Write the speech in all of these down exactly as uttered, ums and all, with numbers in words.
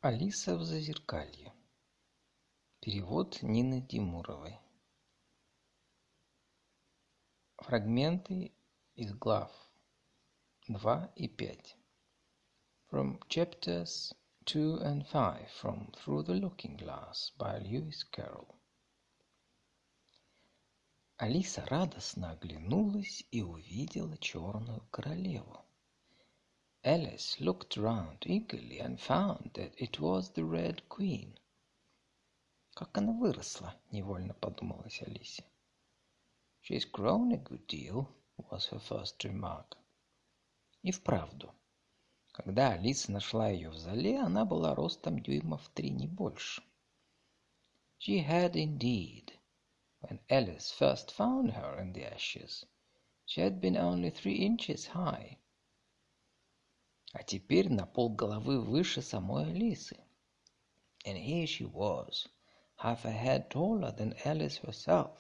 Алиса в Зазеркалье. Перевод Нины Тимуровой. Фрагменты из глав два и пять. From chapters two and five from Through the Looking Glass by Lewis Carroll. Алиса радостно оглянулась и увидела черную королеву. Alice looked round eagerly and found that it was the Red Queen. Как она выросла, невольно подумалась Алисе. She's grown a good deal, was her first remark. И вправду, когда Алиса нашла ее в зале, она была ростом дюймов три, не больше. She had indeed. When Alice first found her in the ashes, she had been only three inches high. А теперь на полголовы выше самой Алисы. And here she was, half a head taller than Alice herself.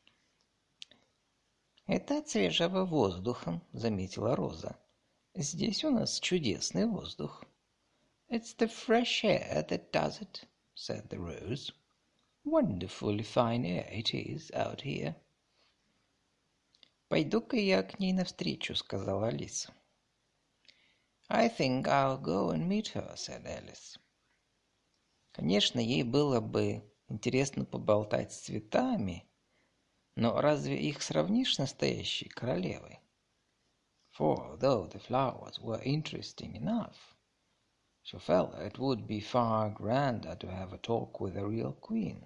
«Это от свежего воздуха», — заметила Роза. «Здесь у нас чудесный воздух». «It's the fresh air that does it», — said the Rose. «Wonderfully fine air it is out here». «Пойду-ка я к ней навстречу», — сказала Алиса. «I think I'll go and meet her», — said Alice. Конечно, ей было бы интересно поболтать с цветами, но разве их сравнишь с настоящей королевой? For though the flowers were interesting enough, she felt it would be far grander to have a talk with a real queen.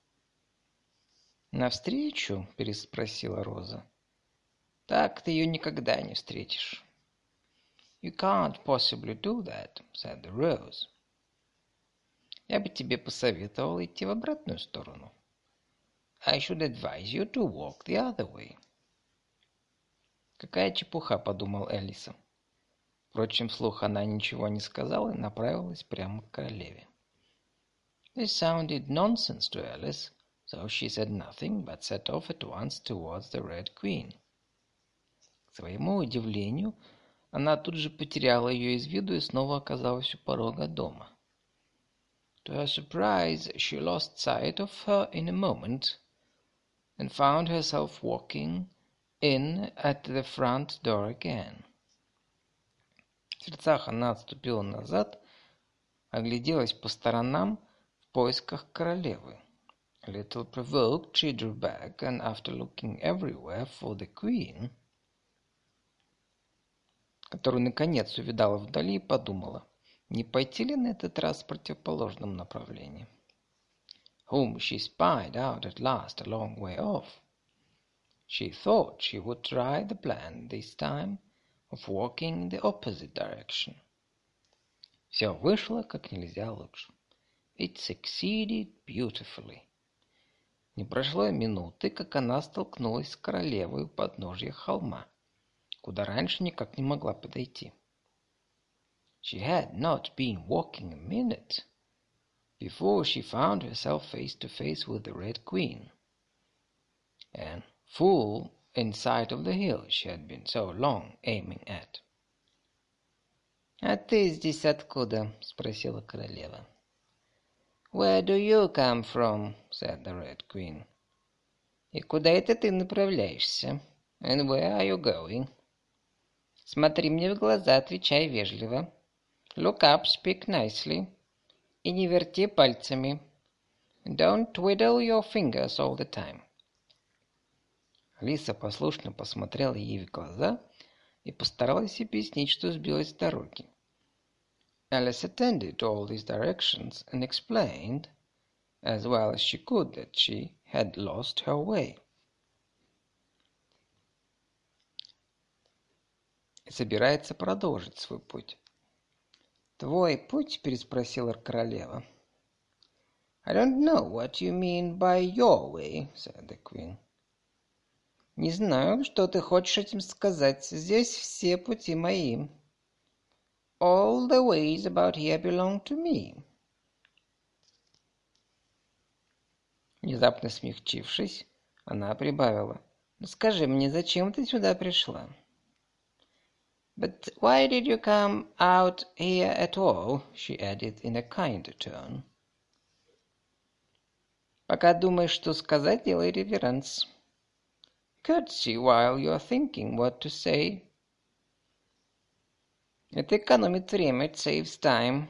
«Навстречу?» — переспросила Роза. «Так ты ее никогда не встретишь». «You can't possibly do that», — said the Rose. «Я бы тебе посоветовал идти в обратную сторону». «I should advise you to walk the other way». «Какая чепуха», — подумал Элиса. Впрочем, вслух она ничего не сказала и направилась прямо к королеве. This sounded nonsense to Alice, so she said nothing, but set off at once towards the Red Queen. К своему удивлению, она тут же потеряла ее из виду и снова оказалась у порога дома. To her surprise, she lost sight of her in a moment, and found herself walking in at the front door again. В сердцах она отступила назад, огляделась по сторонам в поисках королевы. A little provoked, she drew back, and after looking everywhere for the queen, которую наконец увидала вдали, подумала, не пойти ли на этот раз в противоположном направлении. Whom she spied out at last a long way off. She thought she would try the plan this time of walking in the opposite direction. Все вышло как нельзя лучше. It succeeded beautifully. Не прошло и минуты, как она столкнулась с королевой у подножья холма, куда раньше никак не могла подойти. She had not been walking a minute before she found herself face to face with the Red Queen, and full in sight of the hill she had been so long aiming at. «А ты здесь откуда?» — спросила королева. «Where do you come from?» — said the Red Queen. «И куда это ты направляешься?» «And where are you going?» «Смотри мне в глаза, отвечай вежливо. Look up, speak nicely. И не верти пальцами. Don't twiddle your fingers all the time». Алиса послушно посмотрела ей в глаза и постаралась объяснить, что сбилась с дороги. Alice attended to all these directions and explained, as well as she could, that she had lost her way. И собирается продолжить свой путь. «Твой путь?» — переспросила королева. «I don't know what you mean by your way», — said the queen. «Не знаю, что ты хочешь этим сказать. Здесь все пути мои». «All the ways about here belong to me». Внезапно смягчившись, она прибавила. «Ну скажи мне, зачем ты сюда пришла?» But why did you come out here at all? She added in a kinder tone. Пока думаешь, что сказать, делай реверанс. Courtesy while you are thinking what to say. Это экономит время, it saves time.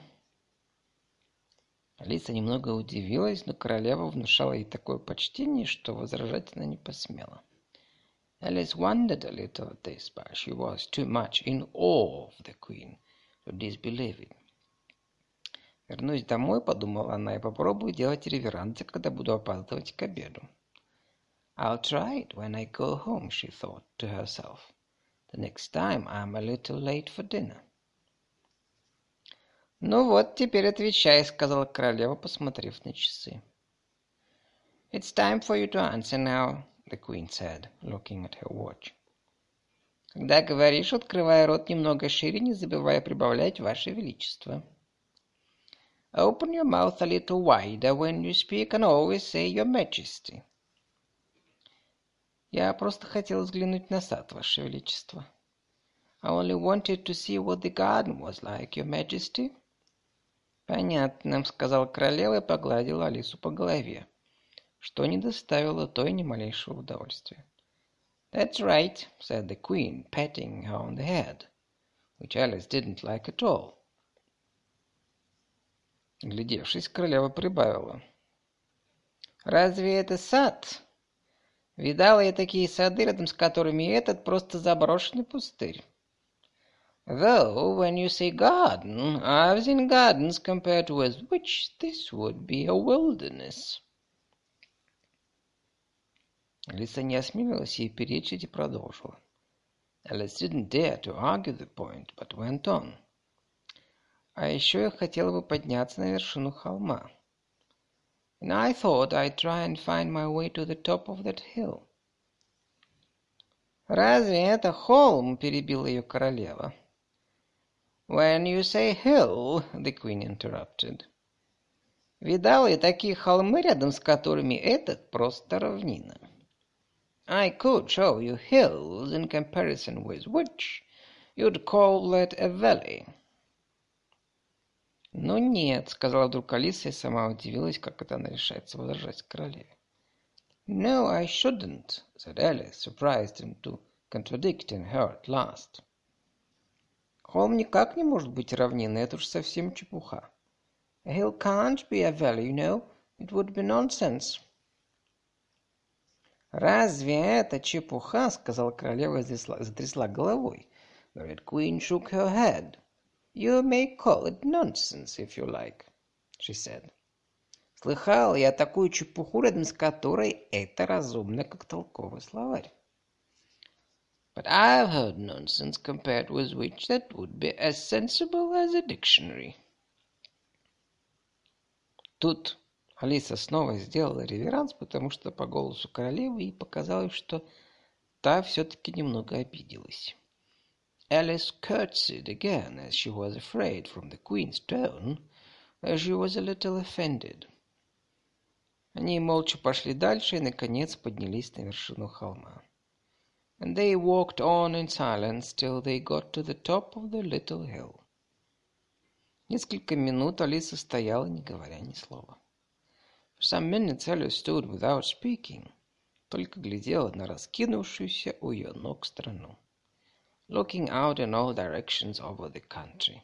Алиса немного удивилась, но королева внушала ей такое почтение, что возражать она не посмела. Alice wondered a little at this, but she was too much in awe of the queen to disbelieve it. Вернусь домой, подумала она, и попробую делать реверансы, когда буду опаздывать к обеду. I'll try it when I go home, she thought to herself. The next time I'm a little late for dinner. «Ну вот, теперь отвечай», — сказала королева, посмотрев на часы. «It's time for you to answer now», the queen said, looking at her watch. «Когда говоришь, открывай рот немного шире, не забывая прибавлять «Ваше Величество». Open your mouth a little wider when you speak and always say «Your Majesty». Я просто хотел взглянуть на сад, Ваше Величество. I only wanted to see what the garden was like, Your Majesty. Понятно, сказала королева и погладила Алису по голове, что не доставило той ни малейшего удовольствия. That's right, said the queen, patting her on the head, which Alice didn't like at all. Глядевшись, королева прибавила. Разве это сад? Видала я такие сады, рядом с которыми этот просто заброшенный пустырь. Though, when you say garden, I've seen gardens compared with which this would be a wilderness. Алиса не осмелилась ей перечить и продолжила. Alice didn't dare to argue the point, but went on. А еще я хотела бы подняться на вершину холма. And I thought I'd try and find my way to the top of that hill. Разве это холм? Перебила ее королева. When you say hill, the queen interrupted. Видала я такие холмы, рядом с которыми этот просто равнина. I could show you hills in comparison with which you'd call that a valley. Ну нет, сказала вдруг Алиса и сама удивилась, как это она решается возражать королеве. No, I shouldn't, said Alice, surprised into contradicting her at last. Холм никак не может быть равниной, это уж совсем чепуха. A hill can't be a valley, you know. It would be nonsense. Разве это чепуха? Сказала королева и затрясла головой. The Red Queen shook her head. You may call it nonsense, if you like, she said. Слыхал я такую чепуху, рядом с которой это разумно, как толковый словарь. But I've heard nonsense compared with which that would be as sensible as a dictionary. Тут Алиса снова сделала реверанс, потому что по голосу королевы ей показалось, что та все-таки немного обиделась. Alice curtsied again, as she was afraid from the queen's tone, as she was a little offended. Они молча пошли дальше и, наконец, поднялись на вершину холма. And they walked on in silence till they got to the top of the little hill. Несколько минут Алиса стояла, не говоря ни слова. For some minutes Alice stood without speaking, только глядела на раскинувшуюся у ее ног страну, looking out in all directions over the country.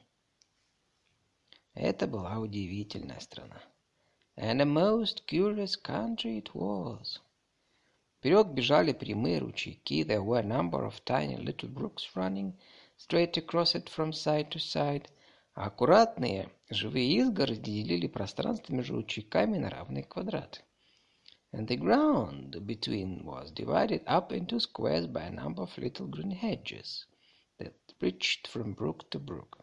Это была удивительная страна. And a most curious country it was. Вперед бежали прямые ручейки. There were a number of tiny little brooks running straight across it from side to side. А аккуратные живые изгороди делили пространство между ручейками на равные квадраты. And the ground between was divided up into squares by a number of little green hedges that reached from brook to brook.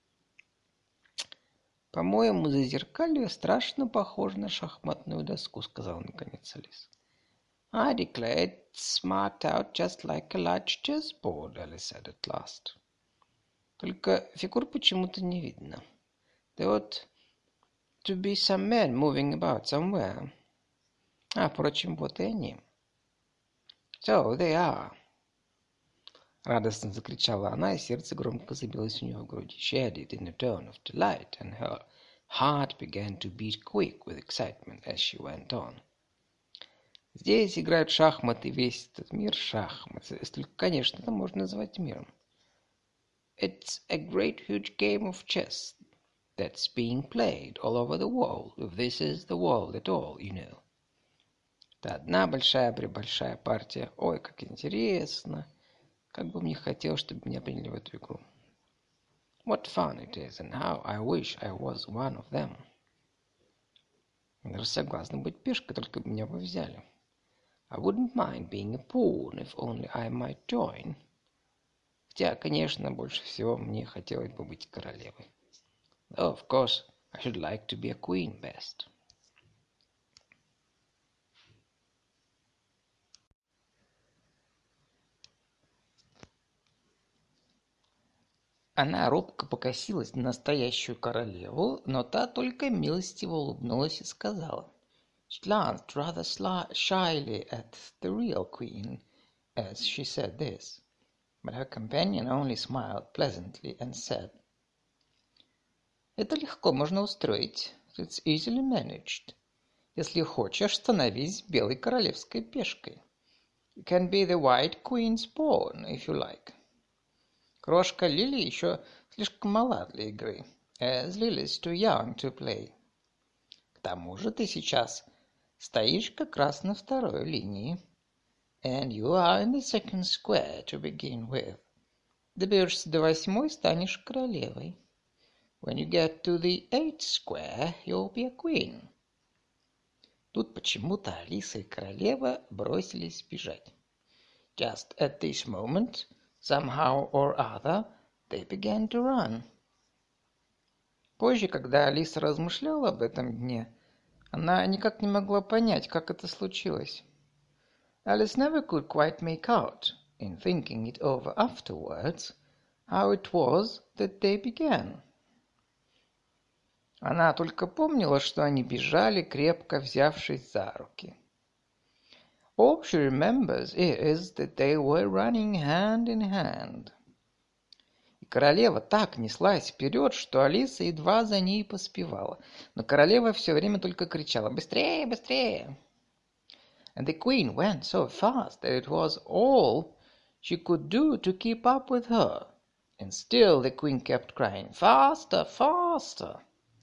«По-моему, зазеркалье страшно похоже на шахматную доску», — сказал наконец Алиса. I declare it's marked out just like a large chessboard, Alice said at last. Только фигур почему-то не видно. There ought to be some men moving about somewhere. А, впрочем, вот и они. So they are. Радостно закричала она, и сердце громко забилось у нее в груди. She added in a tone of delight, and her heart began to beat quick with excitement as she went on. Здесь играют в шахматы, весь этот мир шахмат. Если, конечно, это можно назвать миром. It's a great huge game of chess that's being played all over the world, if this is the world at all, you know. Это одна большая-пребольшая партия. Ой, как интересно. Как бы мне хотелось, чтобы меня приняли в эту игру. What fun it is, and how I wish I was one of them. Я даже согласна быть пешкой, только бы меня бы взяли. I wouldn't mind being a pawn, if only I might join. Хотя, конечно, больше всего мне хотелось бы быть королевой. Though, of course, I should like to be a queen best. Она робко покосилась на настоящую королеву, но та только милостиво улыбнулась и сказала. She glanced rather shyly at the real queen as she said this, but her companion only smiled pleasantly and said, «Это легко можно устроить. It's easily managed. Если хочешь, становись белой королевской пешкой. You can be the white queen's pawn, if you like». Крошка Лили еще слишком мала для игры, as Lily's too young to play. К тому же ты сейчас стоишь как раз на второй линии. And you are in the second square to begin with. Доберешься до восьмой, станешь королевой. When you get to the eighth square, you'll be a queen. Тут почему-то Алиса и королева бросились бежать. Just at this moment, somehow or other, they began to run. Позже, когда Алиса размышляла об этом дне, она никак не могла понять, как это случилось. Alice never could quite make out, in thinking it over afterwards, how it was that they began. Она только помнила, что они бежали, крепко взявшись за руки. All she remembers is that they were running hand in hand. И королева так неслась вперед, что Алиса едва за ней поспевала. Но королева все время только кричала «Быстрее, быстрее!» And the queen went so fast that it was all she could do to keep up with her. And still the queen kept crying «Faster, faster!»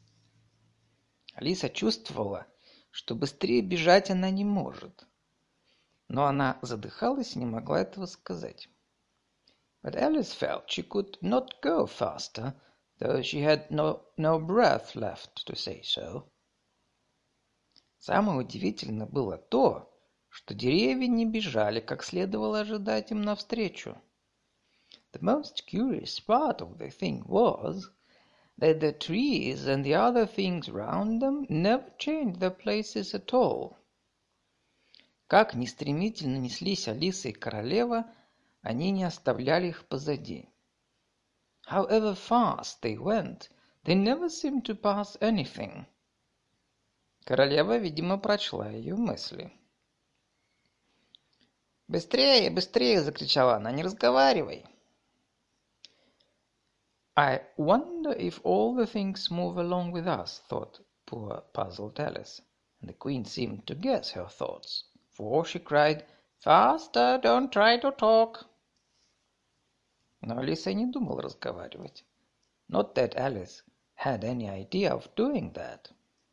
Алиса чувствовала, что быстрее бежать она не может. Но она задыхалась и не могла этого сказать. But Alice felt she could not go faster, though she had no, no breath left to say so. Самое удивительное было то, что деревья не бежали, как следовало ожидать им навстречу. The most curious part of the thing was that the trees and the other things round them never changed their places at all. Как ни стремительно неслись Алиса и королева, они не оставляли их позади. However fast they went, they never seemed to pass anything. Королева, видимо, прочла ее мысли. «Быстрее, быстрее!» — закричала она. «Не разговаривай!» I wonder if all the things move along with us, thought poor puzzled Alice, and the queen seemed to guess her thoughts, for she cried, «Faster, don't try to talk!» Но Алиса и не думала разговаривать. Not that Alice had any idea of doing that.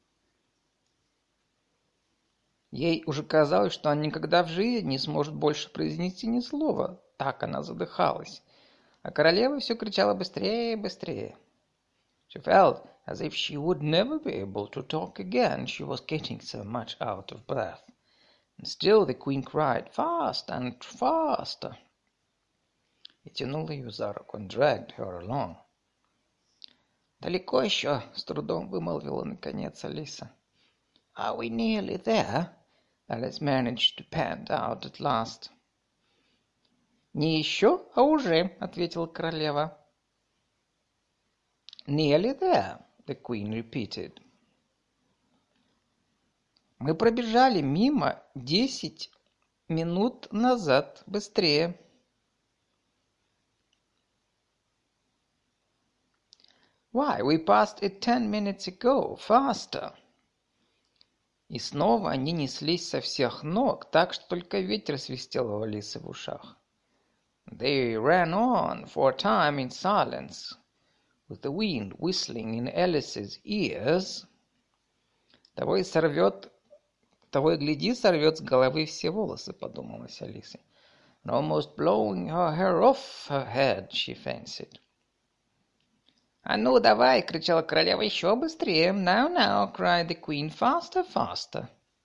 Ей уже казалось, что она никогда в жизни не сможет больше произнести ни слова. Так она задыхалась. А королева все кричала быстрее, быстрее. She felt as if she would never be able to talk again. She was getting so much out of breath. And still the queen cried, faster and faster. И тянула ее за руку, and dragged her along. «Далеко еще?» — с трудом вымолвила наконец Алиса. «Are we nearly there?» Alice managed to pant out at last. «Не еще, а уже», — ответила королева. «Nearly there», — the queen repeated. «Мы пробежали мимо десять минут назад. Быстрее!» Why, we passed it ten minutes ago. Faster!» И снова они неслись со всех ног, так что только ветер свистел у Алисы в ушах. They ran on for a time in silence, with the wind whistling in Alice's ears. Того и сорвет, того и гляди, сорвет с головы все волосы, подумалась Алисе. And almost blowing her hair off her head, she fancied. «А ну, давай!» — кричала королева. «Еще быстрее!» «Now, now!» — cried the queen. «Faster, faster!»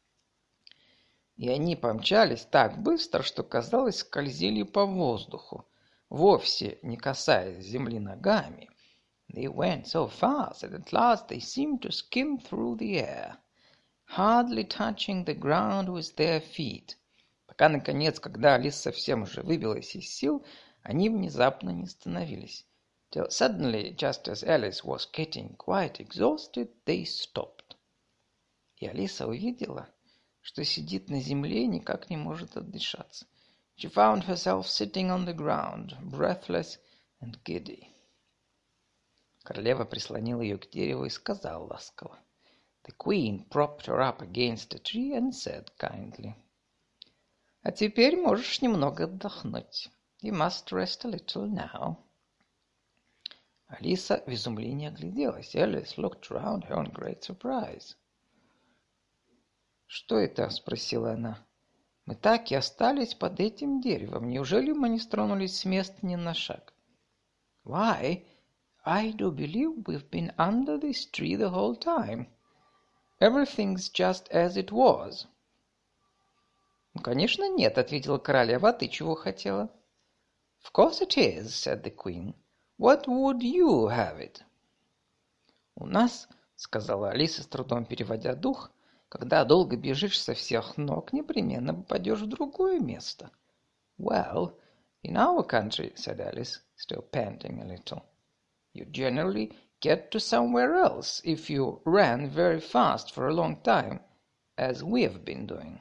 И они помчались так быстро, что, казалось, скользили по воздуху, вовсе не касаясь земли ногами. They went so fast that at last they seemed to skim through the air, hardly touching the ground with their feet. Пока, наконец, когда Алиса совсем уже выбилась из сил, они внезапно не остановились. Till suddenly, just as Alice was getting quite exhausted, they stopped. И Алиса увидела, что сидит на земле и никак не может отдышаться. She found herself sitting on the ground, breathless and giddy. Королева прислонила ее к дереву и сказала ласково. The queen propped her up against a tree and said kindly. «А теперь можешь немного отдохнуть. You must rest a little now». Алиса в изумлении огляделась. Alice looked around her in great surprise. «Что это?» — спросила она. «Мы так и остались под этим деревом. Неужели мы не стронулись с места ни на шаг?» «Why, I do believe we've been under this tree the whole time. Everything's just as it was». «Ну, конечно, нет», — ответила королева. «А ты чего хотела?» «Of course it is», — said the queen. «What would you have it?» «У нас», — сказала Алиса, с трудом переводя дух, «когда долго бежишь со всех ног, непременно попадешь в другое место». «Well, in our country», — said Alice, still panting a little, «you generally get to somewhere else if you ran very fast for a long time, as we have been doing».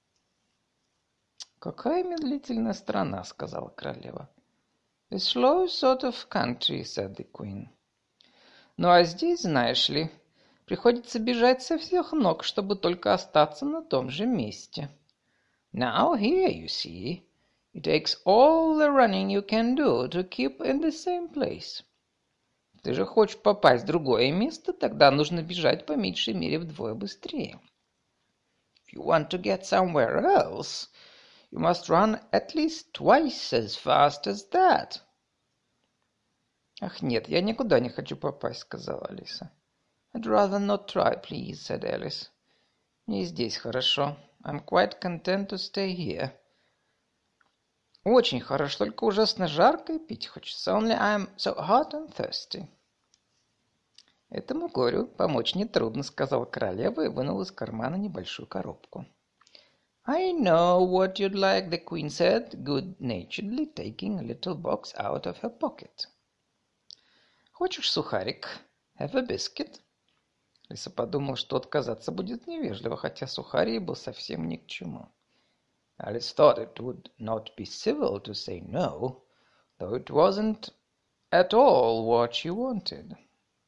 «Какая медлительная страна», — сказала королева. «A slow sort of country», — said the queen. «Ну а здесь, знаешь ли, приходится бежать со всех ног, чтобы только остаться на том же месте». «Now here, you see, it takes all the running you can do to keep in the same place». «Ты же хочешь попасть в другое место, тогда нужно бежать по меньшей мере вдвое быстрее». «If you want to get somewhere else, you must run at least twice as fast as that». «Ах, нет, я никуда не хочу попасть», — сказала Алиса. «I'd rather not try, please», — said Alice. «Мне здесь хорошо. I'm quite content to stay here». «Очень хорошо, только ужасно жарко и пить хочется. Only I'm so hot and thirsty». «Этому горю помочь нетрудно», — сказала королева и вынула из кармана небольшую коробку. «I know what you'd like», — the queen said, good-naturedly taking a little box out of her pocket. «Хочешь сухарик? Have a biscuit?» Лиса подумала, что отказаться будет невежливо, хотя сухарий был совсем ни к чему. Alice thought it would not be civil to say no, though it wasn't at all what she wanted.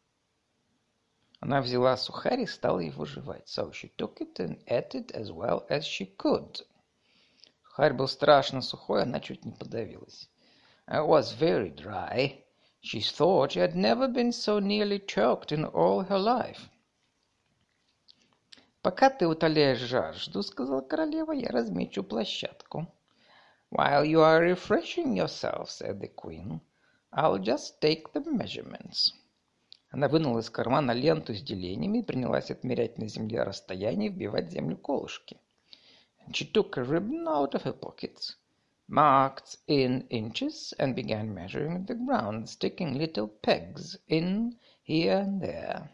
Она взяла сухарь и стала его жевать. So she took it and ate it as well as she could. Сухарь был страшно сухой, она чуть не подавилась. It was very dry. She thought she had never been so nearly choked in all her life. «Пока ты утоляешь жажду, — сказала королева, — я размечу площадку». «While you are refreshing yourself, — said the queen, — I'll just take the measurements». Она вынула из кармана ленту с делениями и принялась отмерять на земле расстояние и вбивать в землю колышки. And she took a ribbon out of her pockets, marked in inches, and began measuring the ground, sticking little pegs in here and there.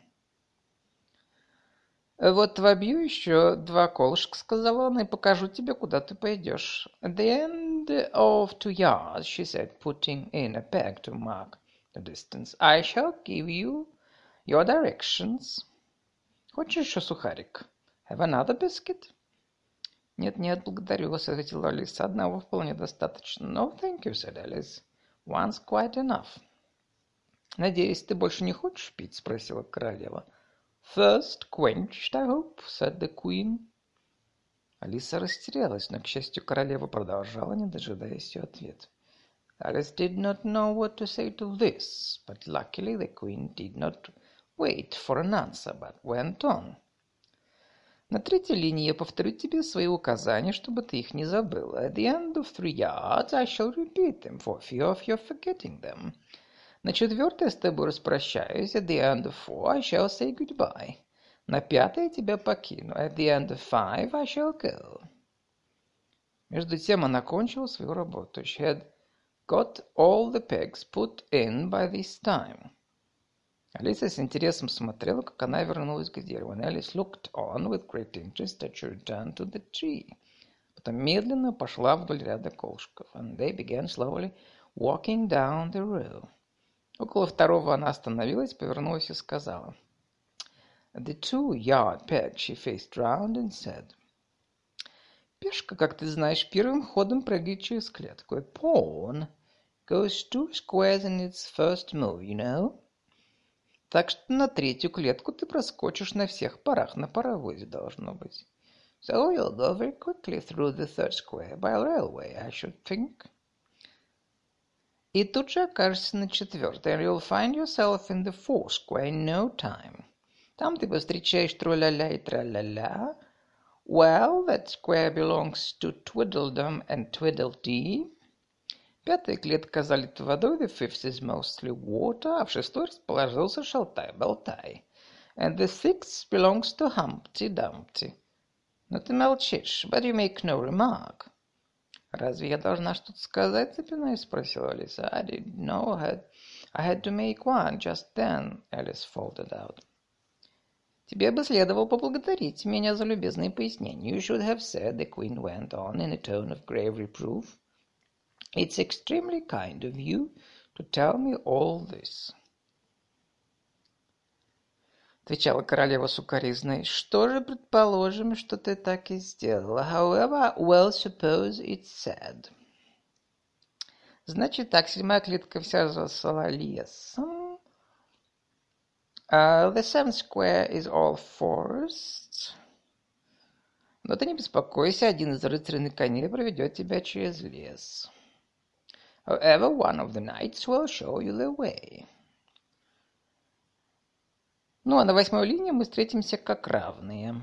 «Вот вобью еще два колышка, — сказала она, — и покажу тебе, куда ты пойдешь». «At the end of two yards, — she said, putting in a peg to mark the distance, — I shall give you your directions». «Хочешь еще сухарик? Have another biscuit?» «Нет-нет, благодарю вас», — ответила Алиса. «Одного вполне достаточно». «No, thank you», — said Alice. «One's quite enough». «Надеюсь, ты больше не хочешь пить?» — спросила королева. «Thirst quenched, I hope», — said the queen. Алиса растерялась, но, к счастью, королева продолжала, не дожидаясь ее ответа. Alice did not know what to say to this, but luckily the queen did not wait for an answer, but went on. На третьей линии я повторю тебе свои указания, чтобы ты их не забыл. At the end of three yards I shall repeat them for fear of your forgetting them. На четвертой я с тобой распрощаюсь. At the end of four I shall say goodbye. На пятой я тебя покину. At the end of five I shall go. Между тем она кончила свою работу. She had got all the pegs put in by this time. Алиса с интересом смотрела, как она вернулась к дереву. And Alice looked on with great interest as she returned to the tree. Потом медленно пошла вдоль ряда колышков. And they began slowly walking down the row. Около второго она остановилась, повернулась и сказала. At the two-yard peg she faced round and said. Пешка, как ты знаешь, первым ходом прыгает через клетку. A pawn goes two squares in its first move, you know. Так что на третью клетку ты проскочишь на всех парах, на паровозе должно быть. So you'll go very quickly through the third square by railway, I should think. И тут же окажешься на четвертой, and you'll find yourself in the fourth square in no time. Там ты повстречаешь тру-ля-ля и тра-ля-ля. Well, that square belongs to Twiddledum and Tweedledee. Пятая клетка залита водой, the fifth is mostly water, а в шестой расположился шалтай-болтай. And the sixth belongs to Humpty-Dumpty. Но ты молчишь, but you make no remark. Разве я должна что-то сказать, запинаясь, спросила Алиса. I didn't know I had, I had to make one just then, Alice faltered out. Тебе бы следовало поблагодарить меня за любезные пояснения. You should have said, the queen went on in a tone of grave reproof. It's extremely kind of you to tell me all this. Отвечала королева сукоризной. Что же, предположим, что ты так и сделала. However, well, suppose it's said. Значит так, седьмая клетка вся засала лесом. Uh, the seventh square is all forest. Но ты не беспокойся, один из рыцарей на коне проведет тебя через лес. However, one of the knights will show you the way. Ну, а на восьмой линии мы встретимся как равные.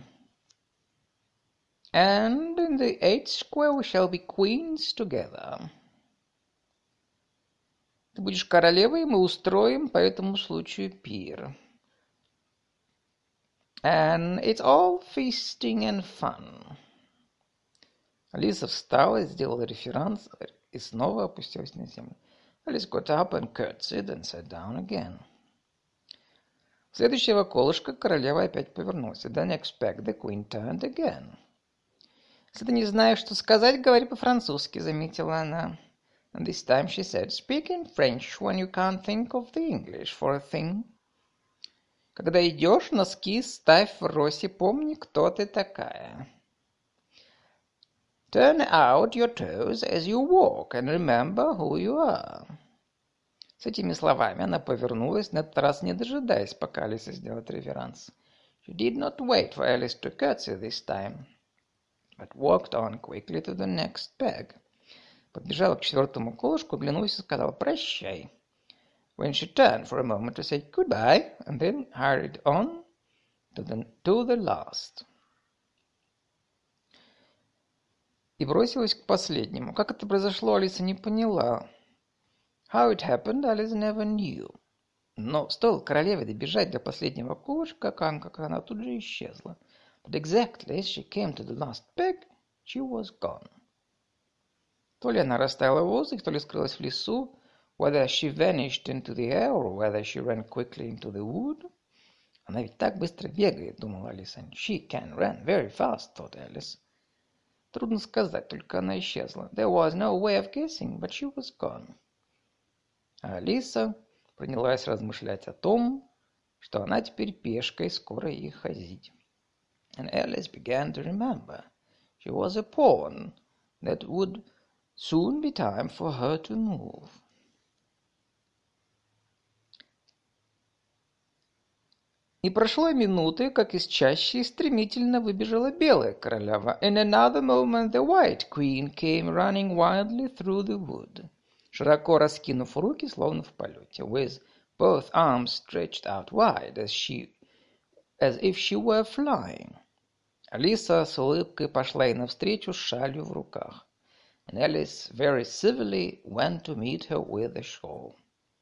And in the eighth square we shall be queens together. Ты будешь королевой, и мы устроим по этому случаю пир. And it's all feasting and fun. Алиса встала, сделала реверанс и снова опустилась на землю. Alice got up and curtsied and sat down again. Следующего колышка королева опять повернулась. The next peg the queen turned again. Если ты не знаешь, что сказать, говори по-французски, заметила она. And this time she said, speak in French when you can't think of the English for a thing. Когда идешь, носки ставь в росе, помни, кто ты такая. Turn out your toes as you walk and remember who you are. С этими словами она повернулась, на этот раз не дожидаясь, пока Алиса сделает реверанс. She did not wait for Alice to curtsy this time, but walked on quickly to the next peg. Подбежала к четвертому колышку, оглянулась и сказала «Прощай». When she turned for a moment to say goodbye, and then hurried on to the, to the last. И бросилась к последнему. Как это произошло, Алиса не поняла. How it happened, Alice never knew. Но стоило королеве добежать до последнего колышка, как она тут же исчезла. But exactly as she came to the last peg, she was gone. То ли она растаяла в воздухе, то ли скрылась в лесу, whether she vanished into the air, or whether she ran quickly into the wood. Она ведь так быстро бегает, думала Алиса. She can run very fast, thought Alice. Трудно сказать, только она исчезла. There was no way of guessing, but she was gone. А Алиса принялась размышлять о том, что она теперь пешка и скоро ей ходить. And Alice began to remember. She was a pawn that would soon be time for her to move. Не прошло и минуты, как из чащи стремительно выбежала белая королева. In another moment the white queen came running wildly through the wood, широко раскинув руки, словно в полете, with both arms stretched out wide, as she, as if she were flying. Алиса с улыбкой пошла ей навстречу с шалью в руках, and Alice very civilly went to meet her with a shawl.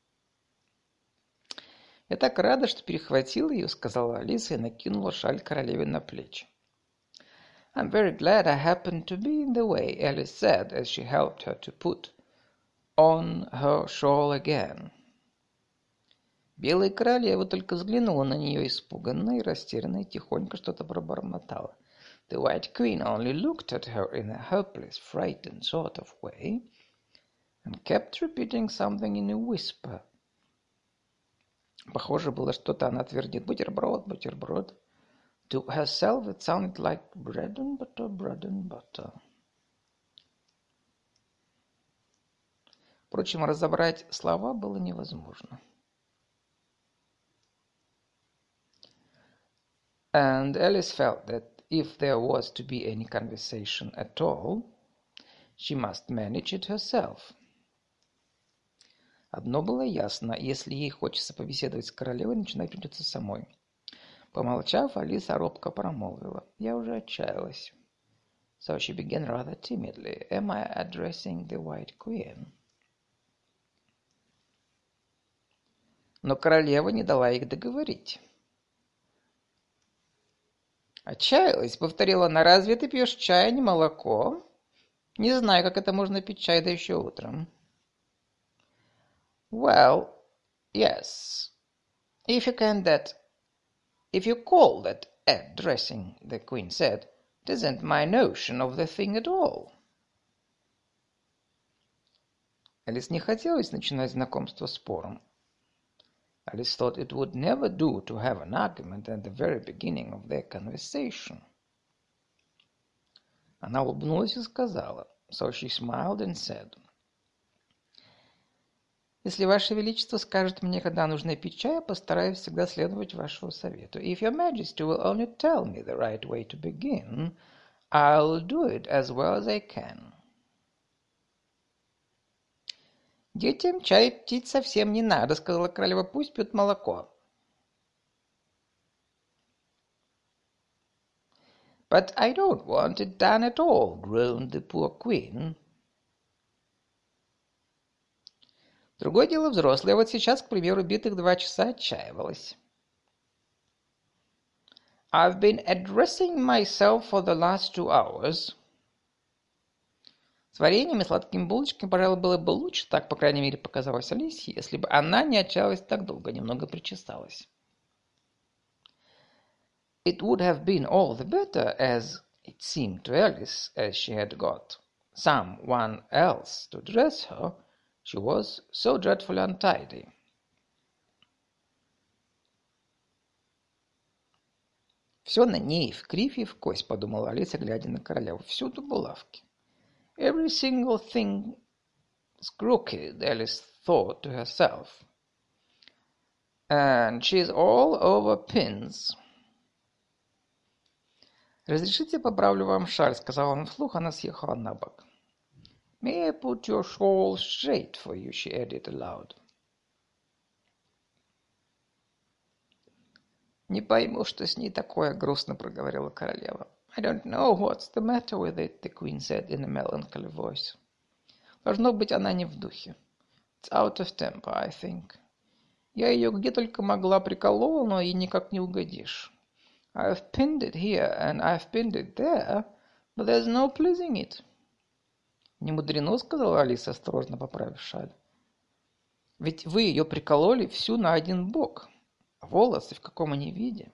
«Я так рада, что перехватила ее», — сказала Алиса и накинула шаль королеве на плечи. «I'm very glad I happened to be in the way», Alice said, as she helped her to put on her shawl again. Белая королева только взглянула на нее испуганно и растерянно и тихонько что-то пробормотала. The White Queen only looked at her in a helpless, frightened sort of way and kept repeating something in a whisper. Похоже было, что-то она твердит. Бутерброд, бутерброд. To herself it sounded like bread and butter, bread and butter. Впрочем, разобрать слова было невозможно. And Alice felt that if there was to be any conversation at all, she must manage it herself. Одно было ясно, если ей хочется побеседовать с королевой, начинать придется самой. Помолчав, Алиса робко промолвила. Я уже отчаялась. So she began rather timidly. Am I addressing the White Queen? Но королева не дала их договорить. Отчаялась, повторила она. Разве ты пьешь чай, а не молоко? Не знаю, как это можно пить чай, да еще утром. Well, yes. If you can that, if you call that addressing, the Queen said, it isn't my notion of the thing at all. Алис не хотелось начинать знакомство спором. Alice thought it would never do to have an argument at the very beginning of their conversation. Она улыбнулась и сказала, so she smiled and said, «Если Ваше Величество скажет мне, когда нужно пить чай, я постараюсь всегда следовать вашему совету. If Your Majesty will only tell me the right way to begin, I'll do it as well as I can». «Детям чай пить совсем не надо», — сказала королева, — «пусть пьют молоко». «But I don't want it done at all», — groaned the poor queen. Другое дело взрослые. Вот сейчас, к примеру, битых два часа отчаивалась. I've been addressing myself for the last two hours. С вареньем и сладкими булочками, пожалуй, было бы лучше, так, по крайней мере, показалось Алисе, если бы она не отчаялась так долго, немного причесалась. It would have been all the better, as it seemed to Alice, as she had got someone else to dress her. She was so dreadfully untidy. Все на ней, в кривь и в кость, подумала Алиса, глядя на королеву. Всюду булавки. Every single thing is crooked, Alice thought to herself. And she's all over pins. «Разрешите, поправлю вам шаль», — сказала он вслух, она съехала на бок. «May I put your shawl straight for you?» she added aloud. «Не пойму, что с ней такое», — грустно проговорила королева. «I don't know what's the matter with it», the queen said in a melancholy voice. «Должно быть, она не в духе. It's out of temper, I think. Я ее где только могла приколола, но ей никак не угодишь. I've pinned it here and I've pinned it there, but there's no pleasing it». «Не мудрено», — сказала Алиса, осторожно поправив шаль. «Ведь вы ее прикололи всю на один бок. Волосы в каком они виде?»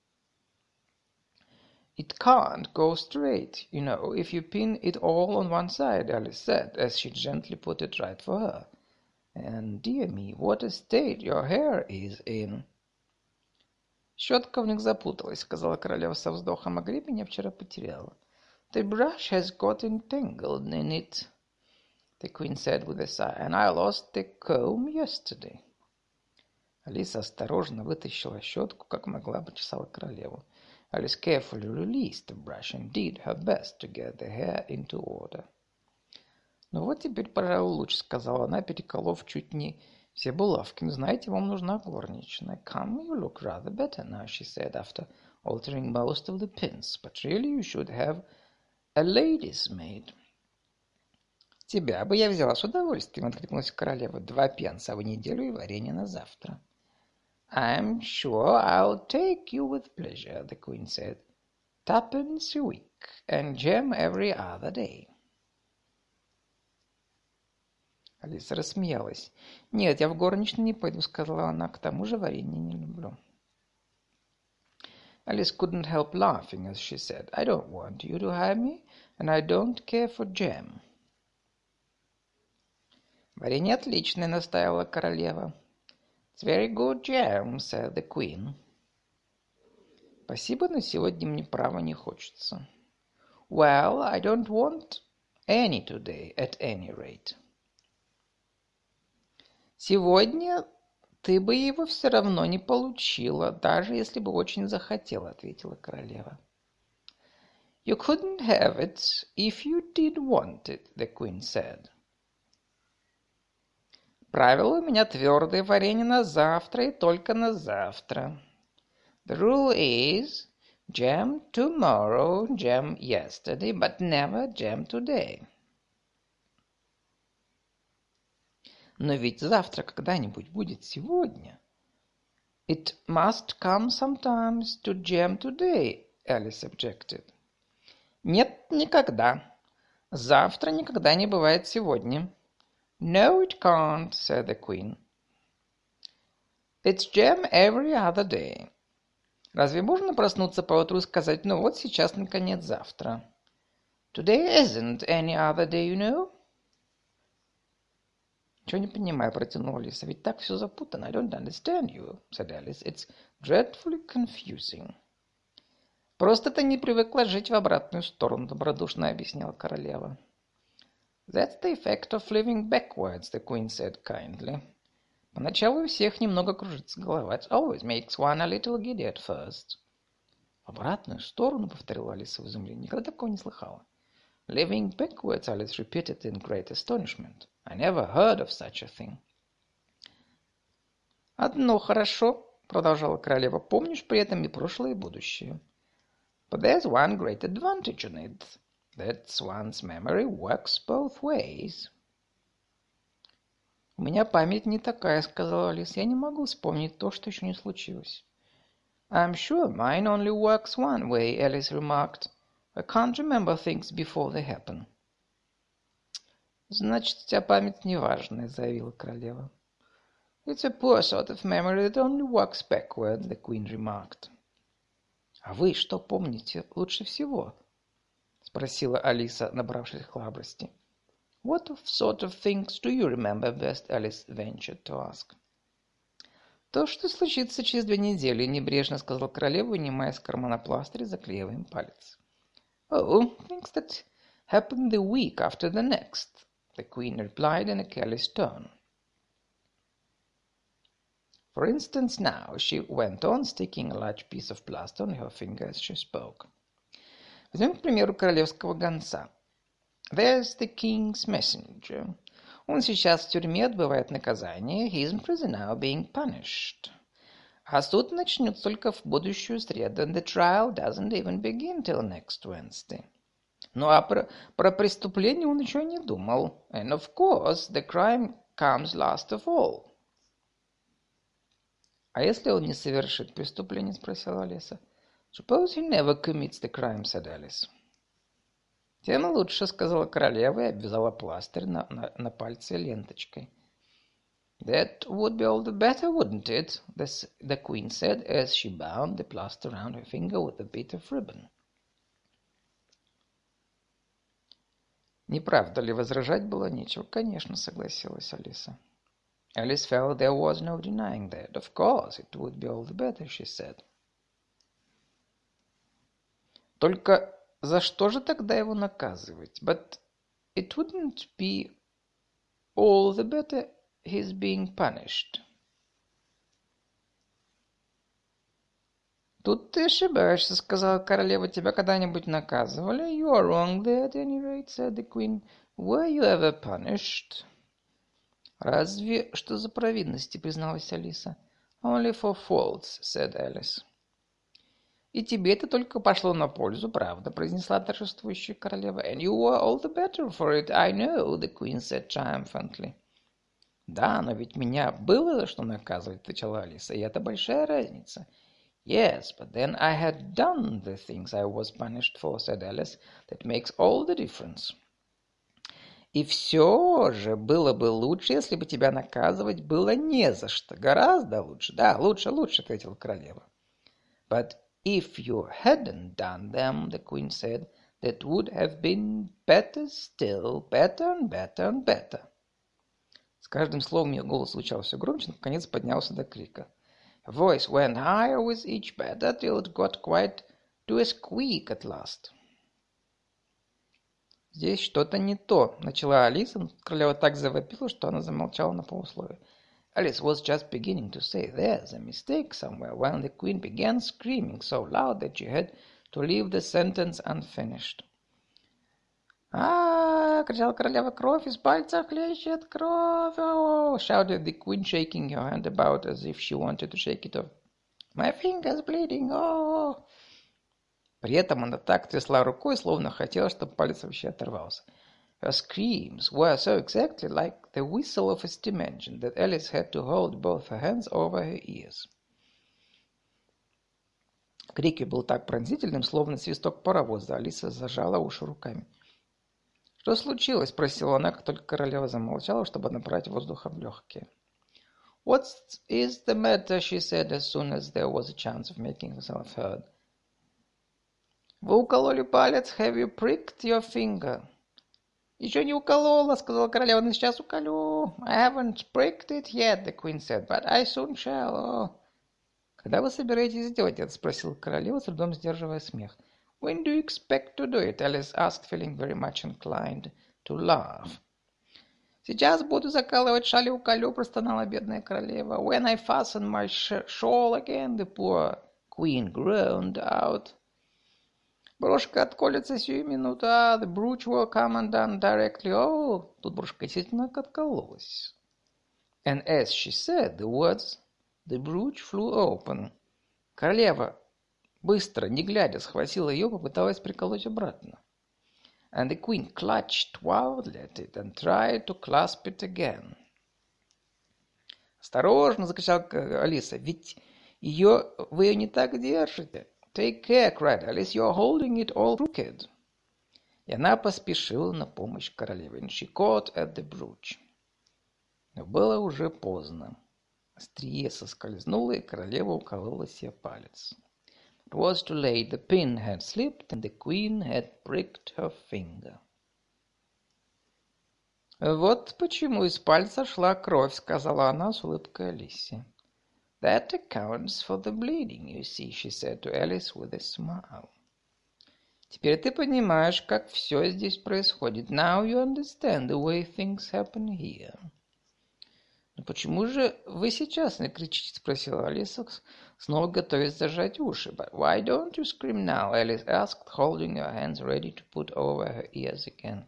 «It can't go straight, you know, if you pin it all on one side», Alice said, as she gently put it right for her. «And, dear me, what a state your hair is in!» «Щетка в них запуталась», — сказала королева со вздохом, — «а гребень я вчера потеряла». «The brush has got entangled in it», the queen said with a sigh, «and I lost the comb yesterday». Алиса осторожно вытащила щетку, как могла, почесала королеву. Alice carefully released the brush and did her best to get the hair into order. «Ну вот теперь, пожалуй, лучше», — сказала она, переколов чуть не все булавки. «Ну, знаете, вам нужна горничная». «Come, you look rather better now», she said, after altering most of the pins. «But really you should have a lady's maid». «Тебя бы я взяла с удовольствием», — откликнулась королева. «Два пенса в неделю и варенье на завтра». «I'm sure I'll take you with pleasure», the Queen said. «Twopence a week, and jam every other day». Алиса рассмеялась. «Нет, я в горничную не пойду», — сказала она. «К тому же варенье не люблю». Alice couldn't help laughing as she said, «I don't want you to hire me, and I don't care for jam». «Варенье отличное», — настаивала королева. «It's very good jam», said the Queen. «Спасибо, но сегодня мне право не хочется». «Well, I don't want any today, at any rate». «Сегодня ты бы его все равно не получила, даже если бы очень захотела», — ответила королева. «You couldn't have it if you did want it», the Queen said. «Правило у меня твердое: варенье на завтра и только на завтра». «The rule is jam tomorrow, jam yesterday, but never jam today». «Но ведь завтра когда-нибудь будет сегодня». «It must come sometimes to jam today», Alice objected. «Нет, никогда. Завтра никогда не бывает сегодня». «No, it can't», said the Queen. «It's jam every other day». «Разве можно проснуться поутру и сказать: ну вот сейчас, наконец, завтра?» «Today isn't any other day, you know». «Ничего не понимаю», — протянула Алиса. «Ведь так все запутано». «I don't understand you», said Alice. «It's dreadfully confusing». «Просто ты не привыкла жить в обратную сторону», — добродушно объяснила королева. «That's the effect of living backwards», the Queen said kindly. «Поначалу у всех немного кружится голова. It always makes one a little giddy at first». «В обратную сторону», — повторила Алиса в изумлении. «Никогда такого не слыхала». «Living backwards», Alice repeated in great astonishment. «I never heard of such a thing». «Одно хорошо», — продолжала королева. «Помнишь при этом и прошлое, и будущее». «But there's one great advantage in it. That's one's memory works both ways». «У меня память не такая», — сказала Алиса. «Я не могу вспомнить то, что еще не случилось». «I'm sure mine only works one way», Alice remarked. «I can't remember things before they happen». «Значит, у тебя память неважная», — заявила королева. «It's a poor sort of memory that only works backward», the Queen remarked. «А вы что помните лучше всего?» — спросила Алиса, набравшись храбрости. «What sort of things do you remember best?» Alice ventured to ask. «То, что случится через две недели», — небрежно сказала королева, вынимая из кармана пластырь и заклеивая им палец. «Oh, things that happen the week after the next», the Queen replied in a careless tone. «For instance, now», she went on, sticking a large piece of plaster on her finger as she spoke. «Возьмем, к примеру, королевского гонца. There's the king's messenger. Он сейчас в тюрьме отбывает наказание. He's in prison now, being punished. А суд начнется только в будущую среду, and the trial doesn't even begin till next Wednesday. Ну а про, про преступление он еще не думал. And of course, the crime comes last of all». «А если он не совершит преступление?» — спросила Алиса. «Suppose he never commits the crime», — said Alice. «Тем лучше», — сказала королева и обвязала пластырь на, на, на пальце ленточкой. «That would be all the better, wouldn't it?» the, the Queen said as she bound the plaster round her finger with a bit of ribbon. «Не правда ли, возражать было нечего?» «Конечно», — согласилась Алиса. Alice felt there was no denying that. «Of course, it would be all the better», she said. «Только за что же тогда его наказывать?» «But it wouldn't be all the better his being punished». «Тут ты ошибаешься», — сказала королева. «Тебя когда-нибудь наказывали?» «You are wrong there, at any rate», — said the queen. «Were you ever punished?» «Разве что за провинности», — призналась Алиса. «Only for faults», — said Alice. «И тебе это только пошло на пользу, правда», — произнесла торжествующая королева. «And you were all the better for it, I know», — the queen said triumphantly. «Да, но ведь меня было за что наказывать», — отвечала Алиса, — «и это большая разница». «Yes, but then I had done the things I was punished for», — said Alice. «That makes all the difference». «И все же было бы лучше, если бы тебя наказывать было не за что. Гораздо лучше». «Да, лучше, лучше», — ответила королева. «But if you hadn't done them», — the queen said, «that would have been better still, better and better and better». С каждым словом ее голос звучал все громче, но наконец поднялся до крика. Her voice went higher with each better till it got quite to a squeak at last. «Здесь что-то не то», — начала Алиса, но королева так завопила, что она замолчала на полусловие. Alice was just beginning to say there's a mistake somewhere when the queen began screaming so loud that she had to leave the sentence unfinished. «А-а-а!» — кричала королева. «Кровь из пальца хлещет! Кровь! Oh!» shouted the queen, shaking her hand about as if she wanted to shake it off. «My finger's bleeding! Oh!» При этом она так трясла рукой, словно хотела, чтобы палец вообще оторвался. Her screams were so exactly like the whistle of a steam engine that Alice had to hold both her hands over her ears. Крик ее был так пронзительным, словно свисток паровоза. Алиса зажала уши руками. «Что случилось?» — спросила она, как только королева замолчала, чтобы набрать воздуха в легкие. «What is the matter?» — she said, as soon as there was a chance of making herself heard. «Вы укололи палец? Have you pricked your finger?» «Еще не уколола», — сказала королева, — «но сейчас уколю». «I haven't pricked it yet», — the queen said, «but I soon shall». Oh. «Когда вы собираетесь сделать это?» — спросила королева, с трудом сдерживая смех. «When do you expect to do it?» Alice asked, feeling very much inclined to laugh. «Сейчас буду закалывать шаль и уколю», — простонала бедная королева. «When I fasten my shawl again», the poor queen groaned out. «Брошка отколется сию минуту, а the brooch will come undone directly». «Oh!» Тут брошка действительно откололась. And as she said the words, the brooch flew open. Королева быстро, не глядя, схватила ее, попыталась приколоть обратно. And the queen clutched wildly at it and tried to clasp it again. «Осторожно!» — закричала Алиса. «Ведь ее вы ее не так держите». «Take care!» — cried Alice. «You're holding it all crooked». И она поспешила на помощь королеве. And she caught at the brooch. Но было уже поздно. Острие соскользнуло, и королева уколола себе палец. It was too late. The pin had slipped, and the queen had pricked her finger. «Вот почему из пальца шла кровь», — сказала она с улыбкой Алисе. «That accounts for the bleeding, you see», she said to Alice with a smile. «Теперь ты понимаешь, как все здесь происходит. Now you understand the way things happen here». «Но почему же вы сейчас не кричите?» — спросила Алиса, снова готовясь зажать уши. «But why don't you scream now?» Alice asked, holding her hands ready to put over her ears again.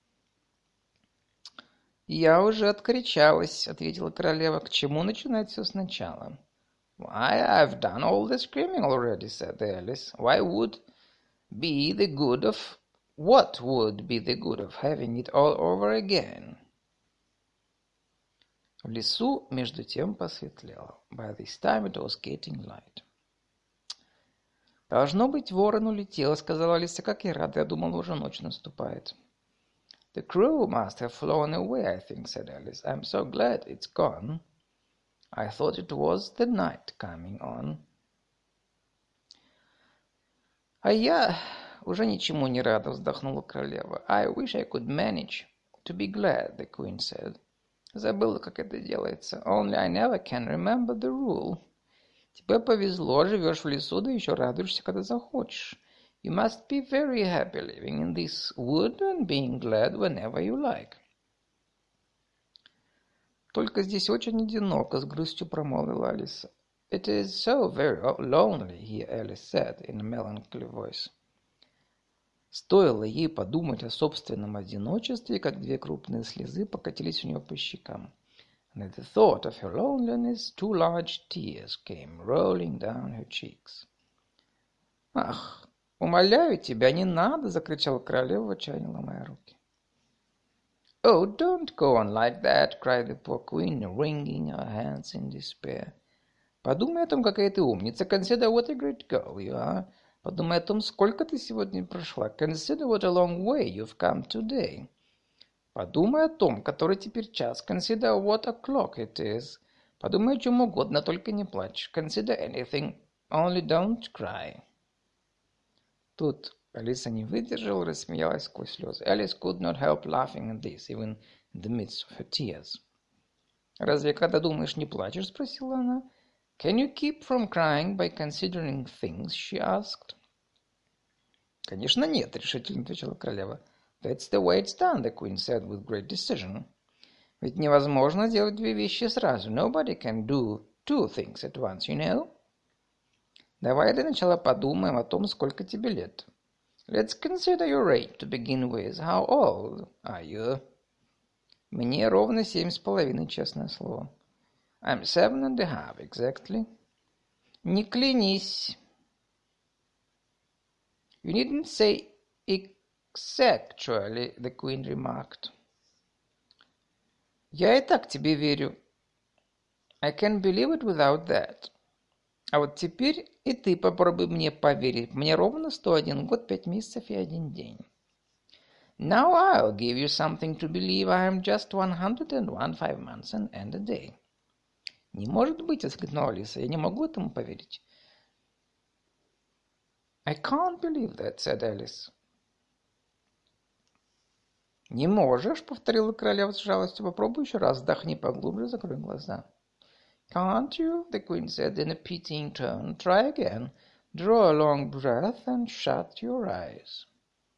«Я уже откричалась», — ответила королева. «К чему начинать все сначала?» «Why, I've done all the screaming already», said Alice. «Why would be the good of... What would be the good of having it all over again?» В лесу между тем посветлело. By this time it was getting light. «Должно быть, ворон улетел», — сказала Алиса. «Как я рада, я думала, уже ночь наступает». «The crow must have flown away, I think», said Alice. «I'm so glad it's gone. I thought it was the night coming on». «А я уже ничему не рада», — вздохнула королева. «I wish I could manage to be glad», the queen said. «Забыла, как это делается. Only I never can remember the rule». «Тебе повезло, живешь в лесу, да еще радуешься, когда захочешь». «You must be very happy living in this wood and being glad whenever you like». «Только здесь очень одиноко», — с грустью промолвила Алиса. "It is so very lonely here," Alice said in a melancholy voice. Стоило ей подумать о собственном одиночестве, как две крупные слезы покатились у нее по щекам. And at the thought of her loneliness, two large tears came rolling down her cheeks. «Ах, умоляю тебя, не надо!» — закричала королева, в отчаянии ломая руки. «Oh, don't go on like that!» cried the poor queen, wringing her hands in despair. «Подумай о том, какая ты умница. Consider what a great girl you are. Подумай о том, сколько ты сегодня прошла. Consider what a long way you've come today. Подумай о том, который теперь час. Consider what o'clock it is. Подумай о чем угодно, только не плачь. Consider anything, only don't cry». Тут Алиса не выдержала и рассмеялась сквозь слезы. Alice could not help laughing at this, even in the midst of her tears. «Разве когда думаешь, не плачешь?» — спросила она. «Can you keep from crying by considering things?» — she asked. «Конечно нет», — решительно отвечала королева. «That's the way it's done», — the queen said with great decision. «Ведь невозможно делать две вещи сразу. Nobody can do two things at once, you know. Давай для начала подумаем о том, сколько тебе лет. Let's consider your age to begin with. How old are you?» «Мне ровно семь с половиной, честное слово». «I'm seven and a half, exactly». «Не клянись». «You needn't say exactly», the queen remarked. «Я и так тебе верю. I can believe it without that. А вот теперь и ты попробуй мне поверить. Мне ровно сто один год, пять месяцев и один день». «Now I'll give you something to believe. I am just one hundred and one, five months and a day». «Не может быть!» — воскликнула Алиса. «Я не могу этому поверить». «I can't believe that», — said Alice. «Не можешь», — повторила королева с жалостью. «Попробуй еще раз, вдохни поглубже, закрой глаза». «Can't you?» — the queen said in a pitying tone. «Try again. Draw a long breath and shut your eyes».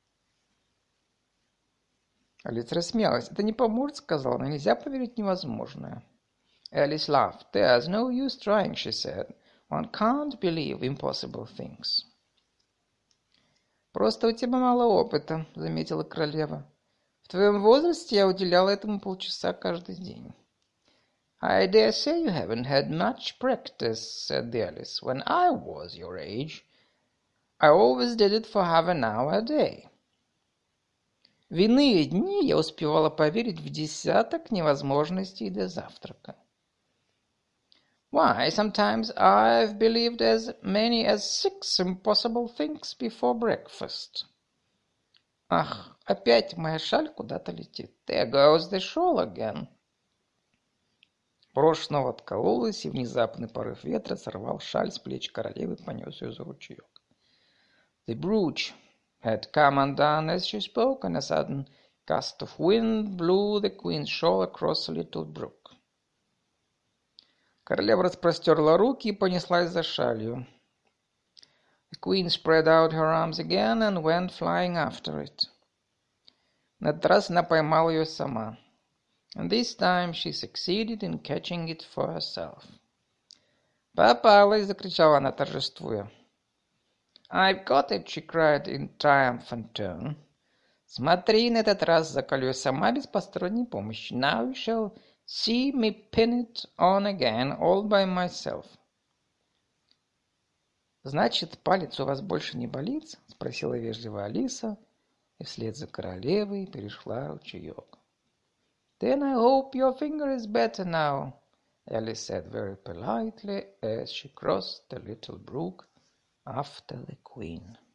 Алиса рассмеялась. «Это не поможет», — сказала она. «Нельзя поверить в невозможное». Alice laughed. «There's no use trying», she said. «One can't believe impossible things». «Просто у тебя мало опыта», — заметила королева. «В твоем возрасте я уделяла этому полчаса каждый день». «I dare say you haven't had much practice», said the Alice. «When I was your age, I always did it for half an hour a day». В иные дни я успевала поверить в десяток невозможностей до завтрака. «Why, sometimes I've believed as many as six impossible things before breakfast». «Ах, опять моя шаль куда-то летит. There goes the shawl again». Брошь снова откололась, и внезапный порыв ветра сорвал шаль с плеч королевы и понес ее за ручеек. The brooch had come undone as she spoke, and a sudden gust of wind blew the queen's shawl across the little brook. Королева распростерла руки и понеслась за шалью. The queen spread out her arms again and went flying after it. На этот раз она поймала ее сама. And this time she succeeded in catching it for herself. «Попалась!» — закричала она, торжествуя. «I've got it!» — she cried in triumphant tone. «Смотри, на этот раз заколю я сама без посторонней помощи. Now you shall see me pin it on again all by myself». «Значит, палец у вас больше не болит?» — спросила вежливо Алиса, и вслед за королевой перешла ручеек. «Then I hope your finger is better now», Alice said very politely as she crossed the little brook after the queen.